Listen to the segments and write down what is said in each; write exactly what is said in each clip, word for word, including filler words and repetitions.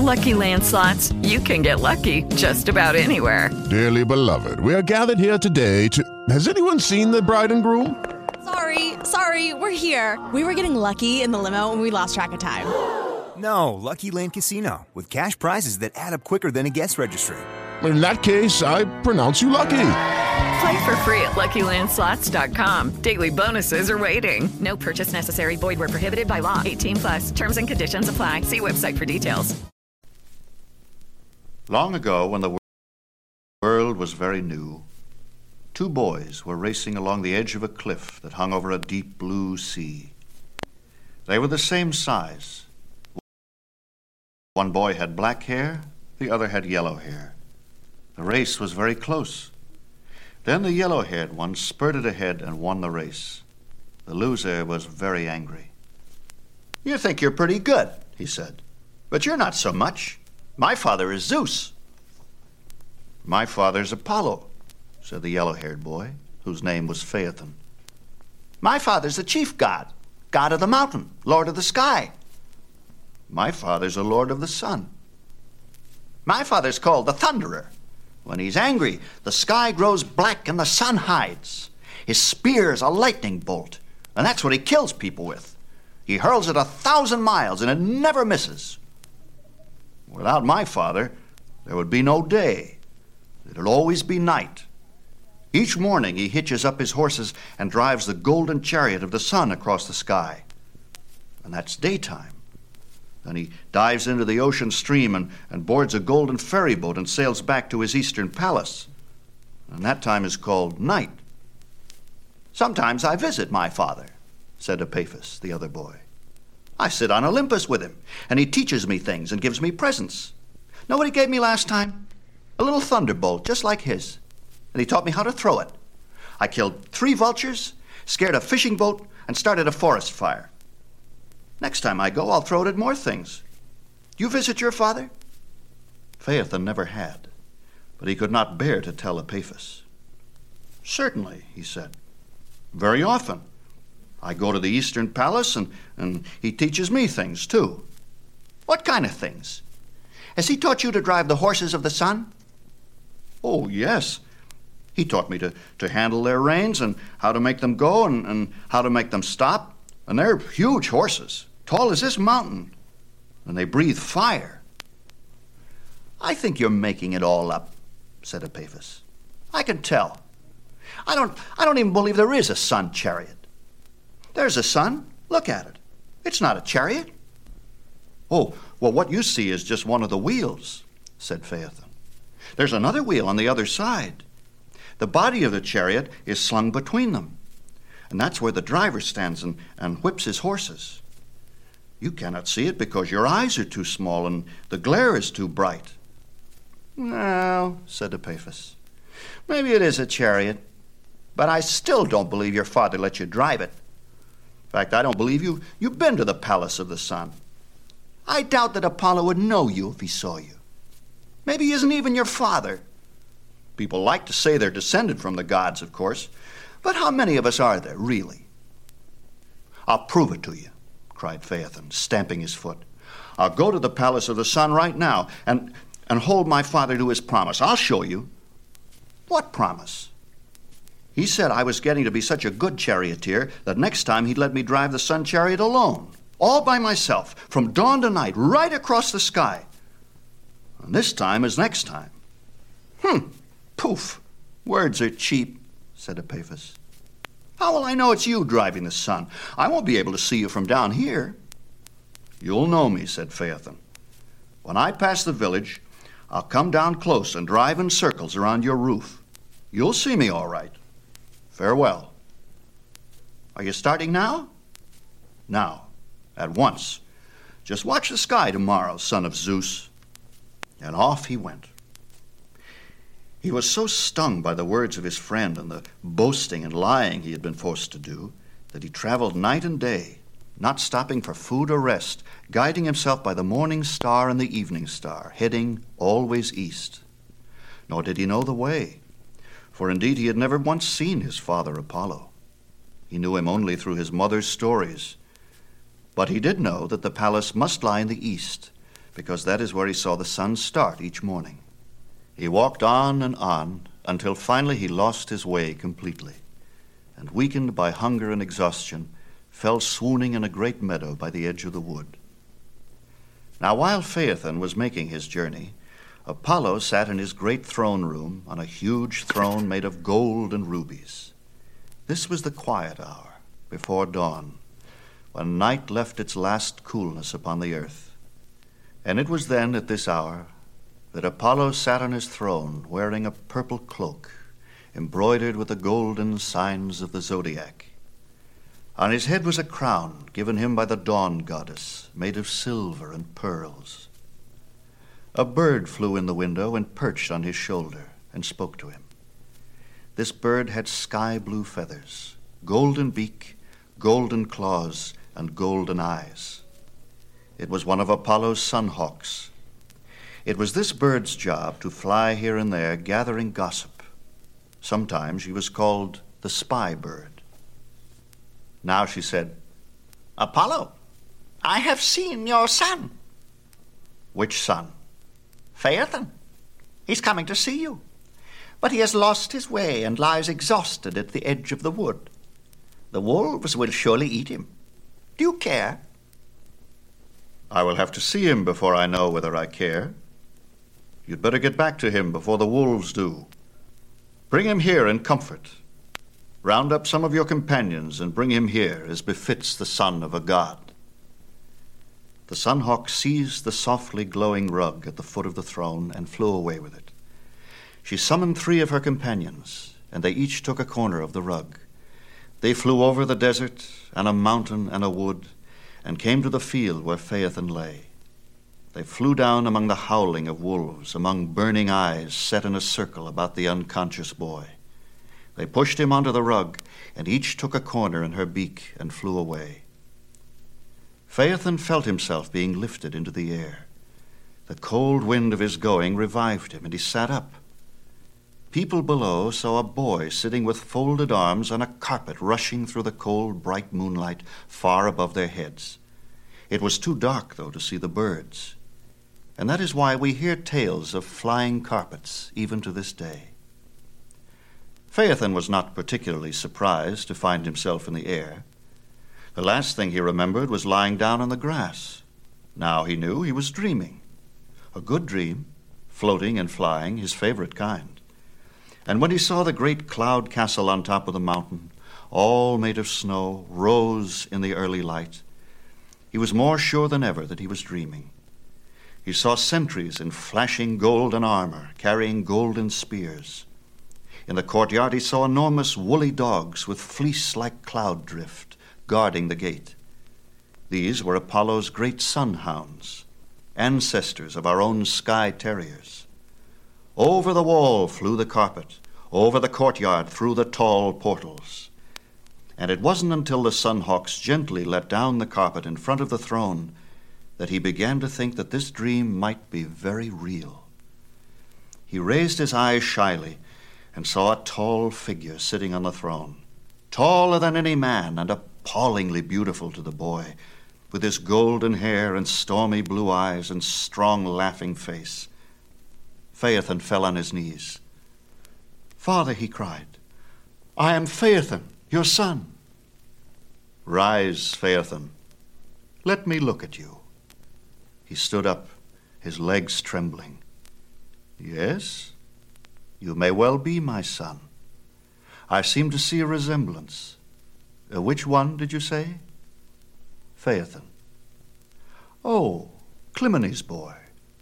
Lucky Land Slots, you can get lucky just about anywhere. Dearly beloved, we are gathered here today to... Has anyone seen the bride and groom? Sorry, sorry, we're here. We were getting lucky in the limo and we lost track of time. No, Lucky Land Casino, with cash prizes that add up quicker than a guest registry. In that case, I pronounce you lucky. Play for free at Lucky Land Slots dot com. Daily bonuses are waiting. No purchase necessary. Void where prohibited by law. eighteen plus. Terms and conditions apply. See website for details. Long ago, when the world was very new, two boys were racing along the edge of a cliff that hung over a deep blue sea. They were the same size. One boy had black hair, the other had yellow hair. The race was very close. Then the yellow-haired one spurted ahead and won the race. The loser was very angry. "You think you're pretty good," he said, "but you're not so much. My father is Zeus." "My father's Apollo," said the yellow-haired boy, whose name was Phaethon. "My father's the chief god, god of the mountain, lord of the sky." "My father's a lord of the sun." "My father's called the Thunderer. When he's angry, the sky grows black and the sun hides. His spear's a lightning bolt, and that's what he kills people with. He hurls it a thousand miles, and it never misses." "Without my father, there would be no day. It'd always be night. Each morning he hitches up his horses and drives the golden chariot of the sun across the sky. And that's daytime. Then he dives into the ocean stream and, and boards a golden ferry boat and sails back to his eastern palace. And that time is called night." "Sometimes I visit my father," said Epaphus, the other boy. "I sit on Olympus with him, and he teaches me things and gives me presents. Know what he gave me last time? A little thunderbolt, just like his. And he taught me how to throw it. I killed three vultures, scared a fishing boat, and started a forest fire. Next time I go, I'll throw it at more things. Do you visit your father?" Phaethon never had, but he could not bear to tell Epaphus. "Certainly," he said. "Very often. I go to the eastern palace, and, and he teaches me things, too." "What kind of things? Has he taught you to drive the horses of the sun?" "Oh, yes. He taught me to, to handle their reins and how to make them go and, and how to make them stop. And they're huge horses, tall as this mountain, and they breathe fire." "I think you're making it all up," said Epaphus. "I can tell. I don't, I don't even believe there is a sun chariot. There's a sun. Look at it. It's not a chariot." "Oh, well, what you see is just one of the wheels," said Phaethon. "There's another wheel on the other side. The body of the chariot is slung between them, and that's where the driver stands and, and whips his horses. You cannot see it because your eyes are too small and the glare is too bright." "Well," said Epaphus, "maybe it is a chariot, but I still don't believe your father let you drive it. In fact, I don't believe you, you've been to the palace of the sun." "I doubt that Apollo would know you if he saw you. Maybe he isn't even your father." "People like to say they're descended from the gods, of course. But how many of us are there, really?" "I'll prove it to you," cried Phaethon, stamping his foot. "I'll go to the palace of the sun right now and, and hold my father to his promise. I'll show you." "What promise?" "He said I was getting to be such a good charioteer that next time he'd let me drive the sun chariot alone, all by myself, from dawn to night, right across the sky. And this time is next time." "Hmm, poof, words are cheap," said Epaphus. "How will I know it's you driving the sun? I won't be able to see you from down here." "You'll know me," said Phaethon. "When I pass the village, I'll come down close and drive in circles around your roof. You'll see me all right. Farewell." "Are you starting now?" "Now, at once. Just watch the sky tomorrow, son of Zeus." And off he went. He was so stung by the words of his friend and the boasting and lying he had been forced to do that he traveled night and day, not stopping for food or rest, guiding himself by the morning star and the evening star, heading always east. Nor did he know the way, for indeed he had never once seen his father Apollo. He knew him only through his mother's stories. But he did know that the palace must lie in the east, because that is where he saw the sun start each morning. He walked on and on until finally he lost his way completely, and weakened by hunger and exhaustion, fell swooning in a great meadow by the edge of the wood. Now while Phaethon was making his journey, Apollo sat in his great throne room on a huge throne made of gold and rubies. This was the quiet hour before dawn, when night left its last coolness upon the earth. And it was then, at this hour, that Apollo sat on his throne wearing a purple cloak embroidered with the golden signs of the zodiac. On his head was a crown given him by the dawn goddess, made of silver and pearls. A bird flew in the window and perched on his shoulder and spoke to him. This bird had sky-blue feathers, golden beak, golden claws, and golden eyes. It was one of Apollo's sunhawks. It was this bird's job to fly here and there gathering gossip. Sometimes she was called the spy bird. Now she said, "Apollo, I have seen your son." "Which son?" "Phaethon. He's coming to see you. But he has lost his way and lies exhausted at the edge of the wood. The wolves will surely eat him. Do you care?" "I will have to see him before I know whether I care. You'd better get back to him before the wolves do. Bring him here in comfort. Round up some of your companions and bring him here as befits the son of a god." The sunhawk seized the softly glowing rug at the foot of the throne and flew away with it. She summoned three of her companions, and they each took a corner of the rug. They flew over the desert and a mountain and a wood, and came to the field where Phaethon lay. They flew down among the howling of wolves, among burning eyes set in a circle about the unconscious boy. They pushed him onto the rug, and each took a corner in her beak and flew away. Phaethon felt himself being lifted into the air. The cold wind of his going revived him, and he sat up. People below saw a boy sitting with folded arms on a carpet rushing through the cold, bright moonlight far above their heads. It was too dark, though, to see the birds. And that is why we hear tales of flying carpets even to this day. Phaethon was not particularly surprised to find himself in the air. The last thing he remembered was lying down on the grass. Now he knew he was dreaming. A good dream, floating and flying, his favorite kind. And when he saw the great cloud castle on top of the mountain, all made of snow, rose in the early light, he was more sure than ever that he was dreaming. He saw sentries in flashing golden armor, carrying golden spears. In the courtyard he saw enormous woolly dogs with fleece-like cloud drift guarding the gate. These were Apollo's great sun hounds, ancestors of our own sky terriers. Over the wall flew the carpet, over the courtyard through the tall portals. And it wasn't until the sunhawks gently let down the carpet in front of the throne that he began to think that this dream might be very real. He raised his eyes shyly and saw a tall figure sitting on the throne, taller than any man and appallingly beautiful to the boy, with his golden hair and stormy blue eyes and strong laughing face. Phaethon fell on his knees. "Father," he cried, "I am Phaethon, your son." "Rise, Phaethon. Let me look at you." He stood up, his legs trembling. "Yes, you may well be my son. I seem to see a resemblance. Uh, which one did you say?" "Phaethon." "Oh, Clymene's boy.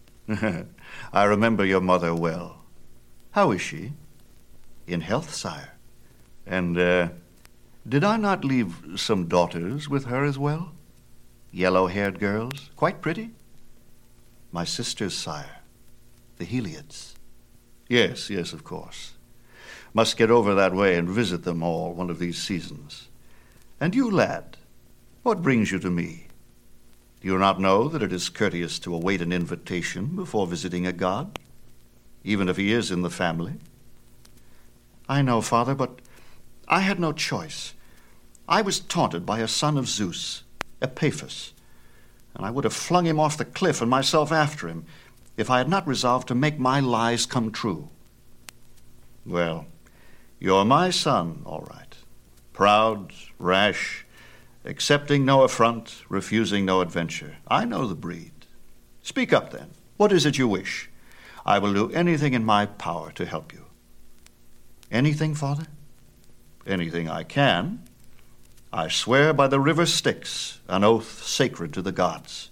I remember your mother well. How is she?" "In health, sire." "And uh, did I not leave some daughters with her as well? Yellow-haired girls, quite pretty?" "My sisters, sire, the Heliads." "Yes, yes, of course. Must get over that way and visit them all one of these seasons. And you, lad, what brings you to me? Do you not know that it is courteous to await an invitation before visiting a god, even if he is in the family?" "I know, Father, but I had no choice. I was taunted by a son of Zeus, Epaphus, and I would have flung him off the cliff and myself after him if I had not resolved to make my lies come true. Well, you're my son, all right. Proud, rash, accepting no affront, refusing no adventure. I know the breed. Speak up, then. What is it you wish? I will do anything in my power to help you. Anything, Father? Anything I can. I swear by the river Styx, an oath sacred to the gods.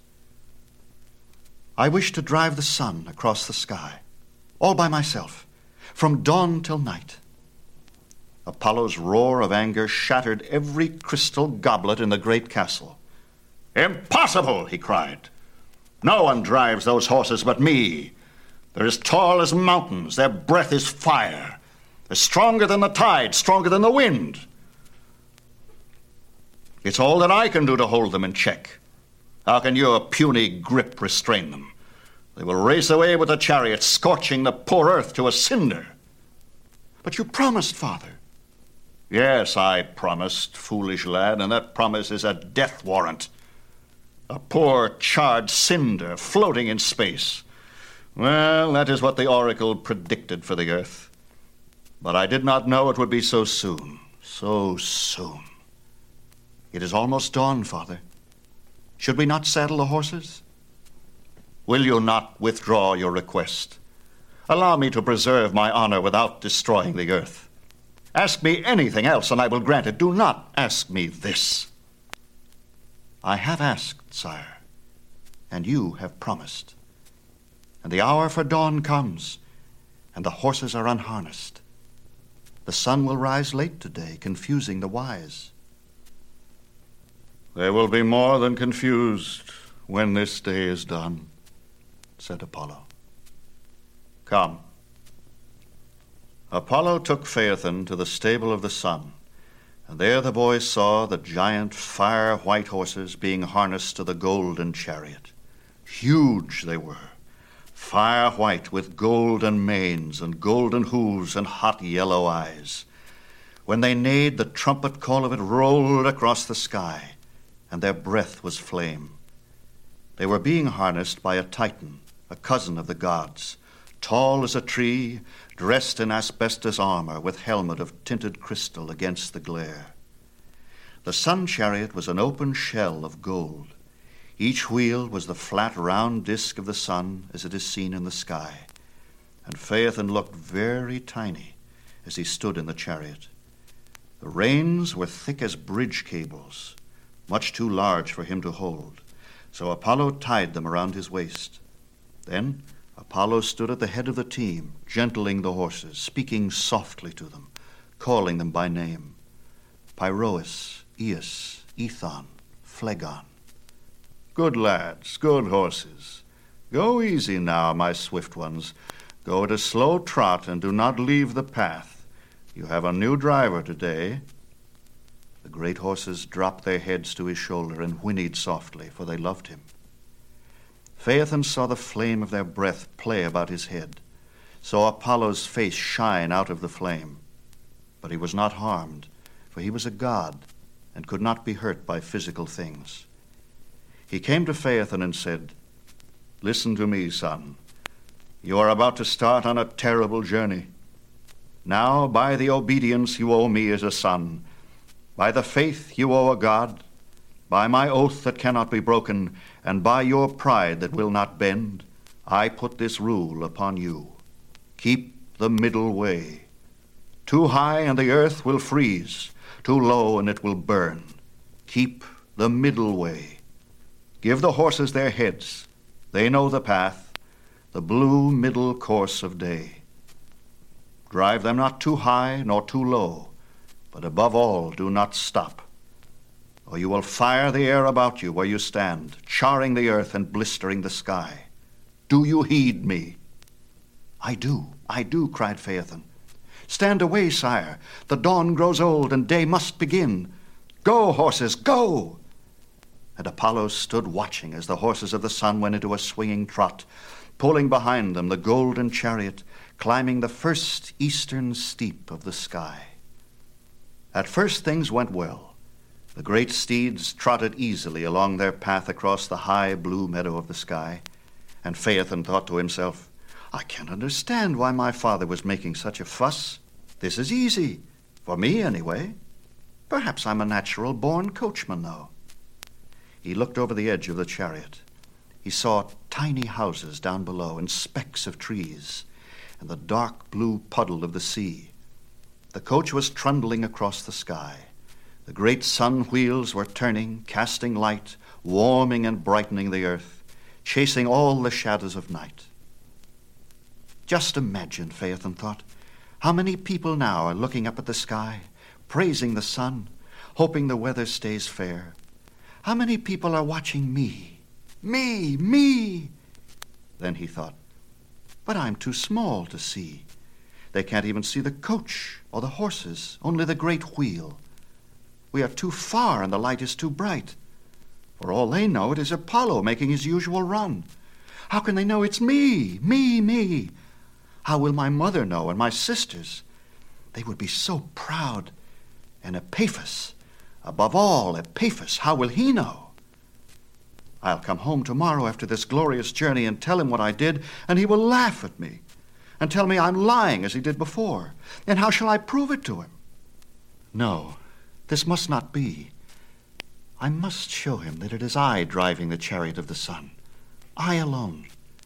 I wish to drive the sun across the sky, all by myself, from dawn till night. Apollo's roar of anger shattered every crystal goblet in the great castle. Impossible, he cried. No one drives those horses but me. They're as tall as mountains. Their breath is fire. They're stronger than the tide, stronger than the wind. It's all that I can do to hold them in check. How can your puny grip restrain them? They will race away with the chariot, scorching the poor earth to a cinder. But you promised, Father. Yes, I promised, foolish lad, and that promise is a death warrant. A poor charred cinder floating in space. Well, that is what the oracle predicted for the earth. But I did not know it would be so soon, so soon. It is almost dawn, Father. Should we not saddle the horses? Will you not withdraw your request? Allow me to preserve my honor without destroying the earth. Ask me anything else, and I will grant it. Do not ask me this. I have asked, sire, and you have promised. And the hour for dawn comes, and the horses are unharnessed. The sun will rise late today, confusing the wise. They will be more than confused when this day is done, said Apollo. Come. Apollo took Phaethon to the stable of the sun, and there the boys saw the giant fire-white horses being harnessed to the golden chariot. Huge they were, fire-white with golden manes and golden hooves and hot yellow eyes. When they neighed, the trumpet call of it rolled across the sky, and their breath was flame. They were being harnessed by a Titan, a cousin of the gods, tall as a tree, dressed in asbestos armor with helmet of tinted crystal against the glare. The sun chariot was an open shell of gold. Each wheel was the flat, round disk of the sun as it is seen in the sky, and Phaethon looked very tiny as he stood in the chariot. The reins were thick as bridge cables, much too large for him to hold, so Apollo tied them around his waist. Then Apollo stood at the head of the team, gentling the horses, speaking softly to them, calling them by name. Pyroas, Eus, Ethon, Phlegon. Good lads, good horses. Go easy now, my swift ones. Go at a slow trot and do not leave the path. You have a new driver today. The great horses dropped their heads to his shoulder and whinnied softly, for they loved him. Phaethon saw the flame of their breath play about his head, saw Apollo's face shine out of the flame. But he was not harmed, for he was a god and could not be hurt by physical things. He came to Phaethon and said, Listen to me, son. You are about to start on a terrible journey. Now, by the obedience you owe me as a son, by the faith you owe a god, by my oath that cannot be broken, and by your pride that will not bend, I put this rule upon you. Keep the middle way. Too high and the earth will freeze, too low and it will burn. Keep the middle way. Give the horses their heads. They know the path, the blue middle course of day. Drive them not too high nor too low, but above all do not stop, or you will fire the air about you where you stand, charring the earth and blistering the sky. Do you heed me? I do, I do, cried Phaethon. Stand away, sire. The dawn grows old and day must begin. Go, horses, go! And Apollo stood watching as the horses of the sun went into a swinging trot, pulling behind them the golden chariot, climbing the first eastern steep of the sky. At first things went well. The great steeds trotted easily along their path across the high blue meadow of the sky, and Phaethon thought to himself, I can't understand why my father was making such a fuss. This is easy, for me anyway. Perhaps I'm a natural-born coachman, though. He looked over the edge of the chariot. He saw tiny houses down below and specks of trees and the dark blue puddle of the sea. The coach was trundling across the sky. The great sun wheels were turning, casting light, warming and brightening the earth, chasing all the shadows of night. Just imagine, Phaethon thought, how many people now are looking up at the sky, praising the sun, hoping the weather stays fair. How many people are watching me? Me, me! Then he thought, but I'm too small to see. They can't even see the coach or the horses, only the great wheel. We are too far and the light is too bright. For all they know, it is Apollo making his usual run. How can they know it's me, me, me? How will my mother know and my sisters? They would be so proud. And Epaphus, above all, Epaphus, how will he know? I'll come home tomorrow after this glorious journey and tell him what I did, and he will laugh at me and tell me I'm lying as he did before. And how shall I prove it to him? No, this must not be. I must show him that it is I driving the chariot of the sun, I alone.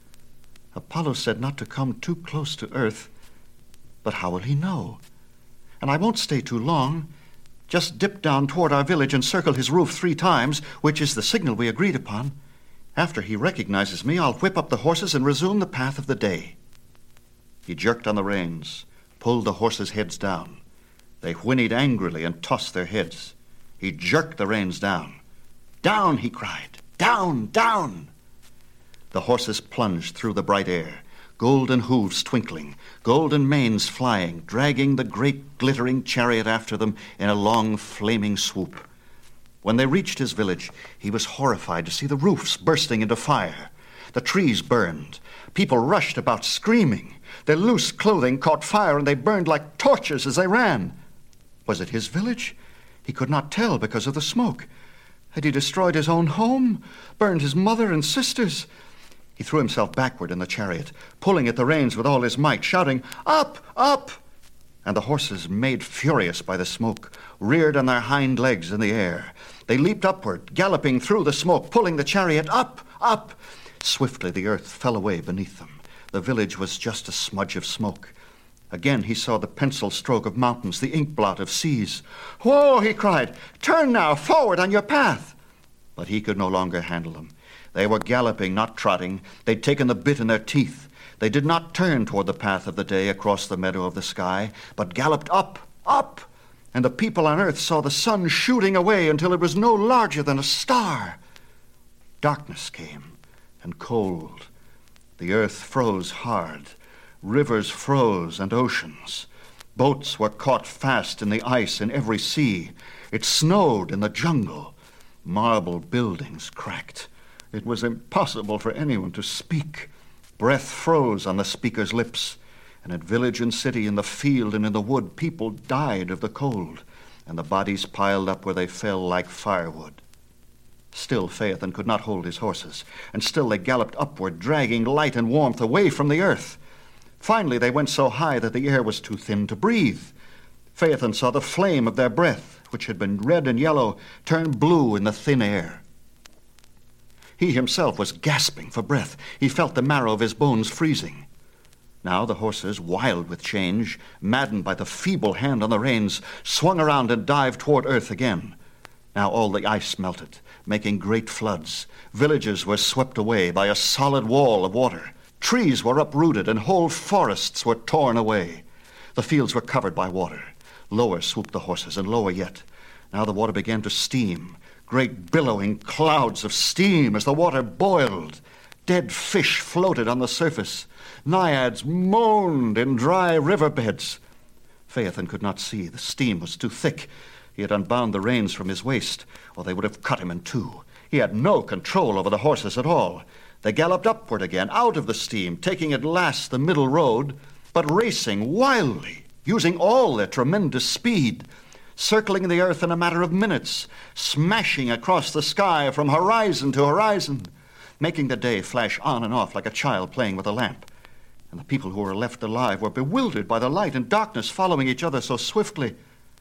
Apollo said not to come too close to earth, but how will he know? And I won't stay too long. Just dip down toward our village and circle his roof three times, which is the signal we agreed upon. After he recognizes me, I'll whip up the horses and resume the path of the day. He jerked on the reins, pulled the horses' heads down. They whinnied angrily and tossed their heads. He jerked the reins down. Down, he cried. Down, down! The horses plunged through the bright air, golden hooves twinkling, golden manes flying, dragging the great glittering chariot after them in a long flaming swoop. When they reached his village, he was horrified to see the roofs bursting into fire. The trees burned. People rushed about screaming. Their loose clothing caught fire and they burned like torches as they ran. Was it his village? He could not tell because of the smoke. Had he destroyed his own home, burned his mother and sisters? He threw himself backward in the chariot, pulling at the reins with all his might, shouting, Up! Up! And the horses, made furious by the smoke, reared on their hind legs in the air. They leaped upward, galloping through the smoke, pulling the chariot up, up. Swiftly the earth fell away beneath them. The village was just a smudge of smoke. Again he saw the pencil stroke of mountains, the ink blot of seas. Whoa, he cried, turn now, forward on your path. But he could no longer handle them. They were galloping, not trotting. They'd taken the bit in their teeth. They did not turn toward the path of the day across the meadow of the sky, but galloped up, up. And the people on earth saw the sun shooting away until it was no larger than a star. Darkness came, and cold. The earth froze hard. Rivers froze and oceans. Boats were caught fast in the ice in every sea. It snowed in the jungle. Marble buildings cracked. It was impossible for anyone to speak. Breath froze on the speaker's lips. And at village and city, in the field and in the wood, people died of the cold, and the bodies piled up where they fell like firewood. Still Phaethon could not hold his horses, and still they galloped upward, dragging light and warmth away from the earth. Finally they went so high that the air was too thin to breathe. Phaethon saw the flame of their breath, which had been red and yellow, turn blue in the thin air. He himself was gasping for breath. He felt the marrow of his bones freezing. Now the horses, wild with change, maddened by the feeble hand on the reins, swung around and dived toward earth again. Now all the ice melted, making great floods. Villages were swept away by a solid wall of water. Trees were uprooted and whole forests were torn away. The fields were covered by water. Lower swooped the horses, and lower yet. Now the water began to steam. Great billowing clouds of steam as the water boiled. Dead fish floated on the surface. Naiads moaned in dry riverbeds. Phaethon could not see. The steam was too thick. He had unbound the reins from his waist, or they would have cut him in two. He had no control over the horses at all. They galloped upward again, out of the steam, taking at last the middle road, but racing wildly, using all their tremendous speed. circling the earth in a matter of minutes, smashing across the sky from horizon to horizon, making the day flash on and off like a child playing with a lamp. And the people who were left alive were bewildered by the light and darkness following each other so swiftly.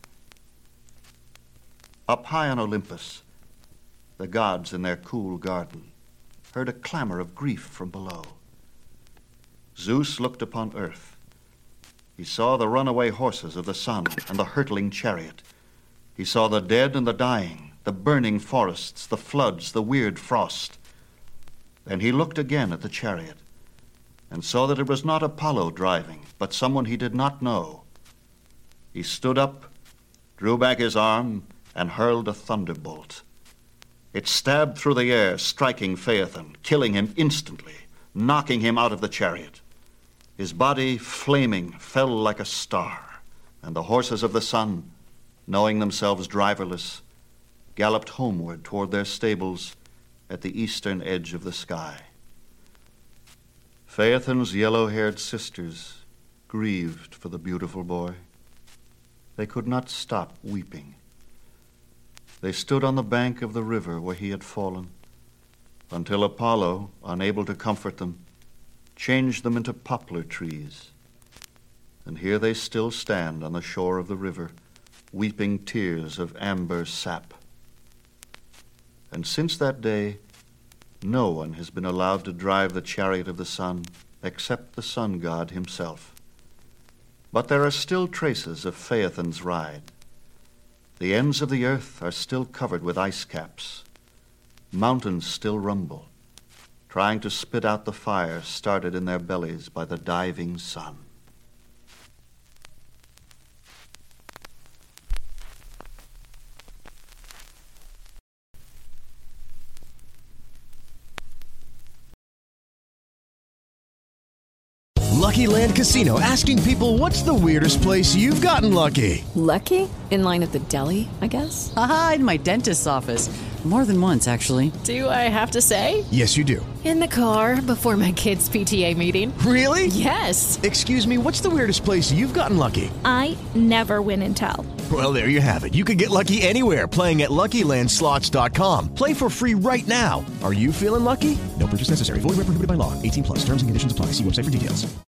Up high on Olympus, the gods in their cool garden heard a clamor of grief from below. Zeus looked upon earth. He saw the runaway horses of the sun and the hurtling chariot. He saw the dead and the dying, the burning forests, the floods, the weird frost. Then he looked again at the chariot and saw that it was not Apollo driving, but someone he did not know. He stood up, drew back his arm, and hurled a thunderbolt. It stabbed through the air, striking Phaethon, killing him instantly, knocking him out of the chariot. His body, flaming, fell like a star, and the horses of the sun, knowing themselves driverless, galloped homeward toward their stables at the eastern edge of the sky. Phaethon's yellow-haired sisters grieved for the beautiful boy. They could not stop weeping. They stood on the bank of the river where he had fallen, until Apollo, unable to comfort them, changed them into poplar trees. And here they still stand on the shore of the river, weeping tears of amber sap. And since that day, no one has been allowed to drive the chariot of the sun except the sun god himself. But there are still traces of Phaethon's ride. The ends of the earth are still covered with ice caps. Mountains still rumble, trying to spit out the fire started in their bellies by the diving sun. Lucky Land Casino, asking people, what's the weirdest place you've gotten lucky? Lucky? In line at the deli, I guess? Aha, in my dentist's office. More than once, actually. Do I have to say? Yes, you do. In the car before my kids' P T A meeting. Really? Yes. Excuse me, what's the weirdest place you've gotten lucky? I never win and tell. Well, there you have it. You can get lucky anywhere, playing at Lucky Land Slots dot com. Play for free right now. Are you feeling lucky? No purchase necessary. Void where prohibited by law. eighteen plus. Terms and conditions apply. See website for details.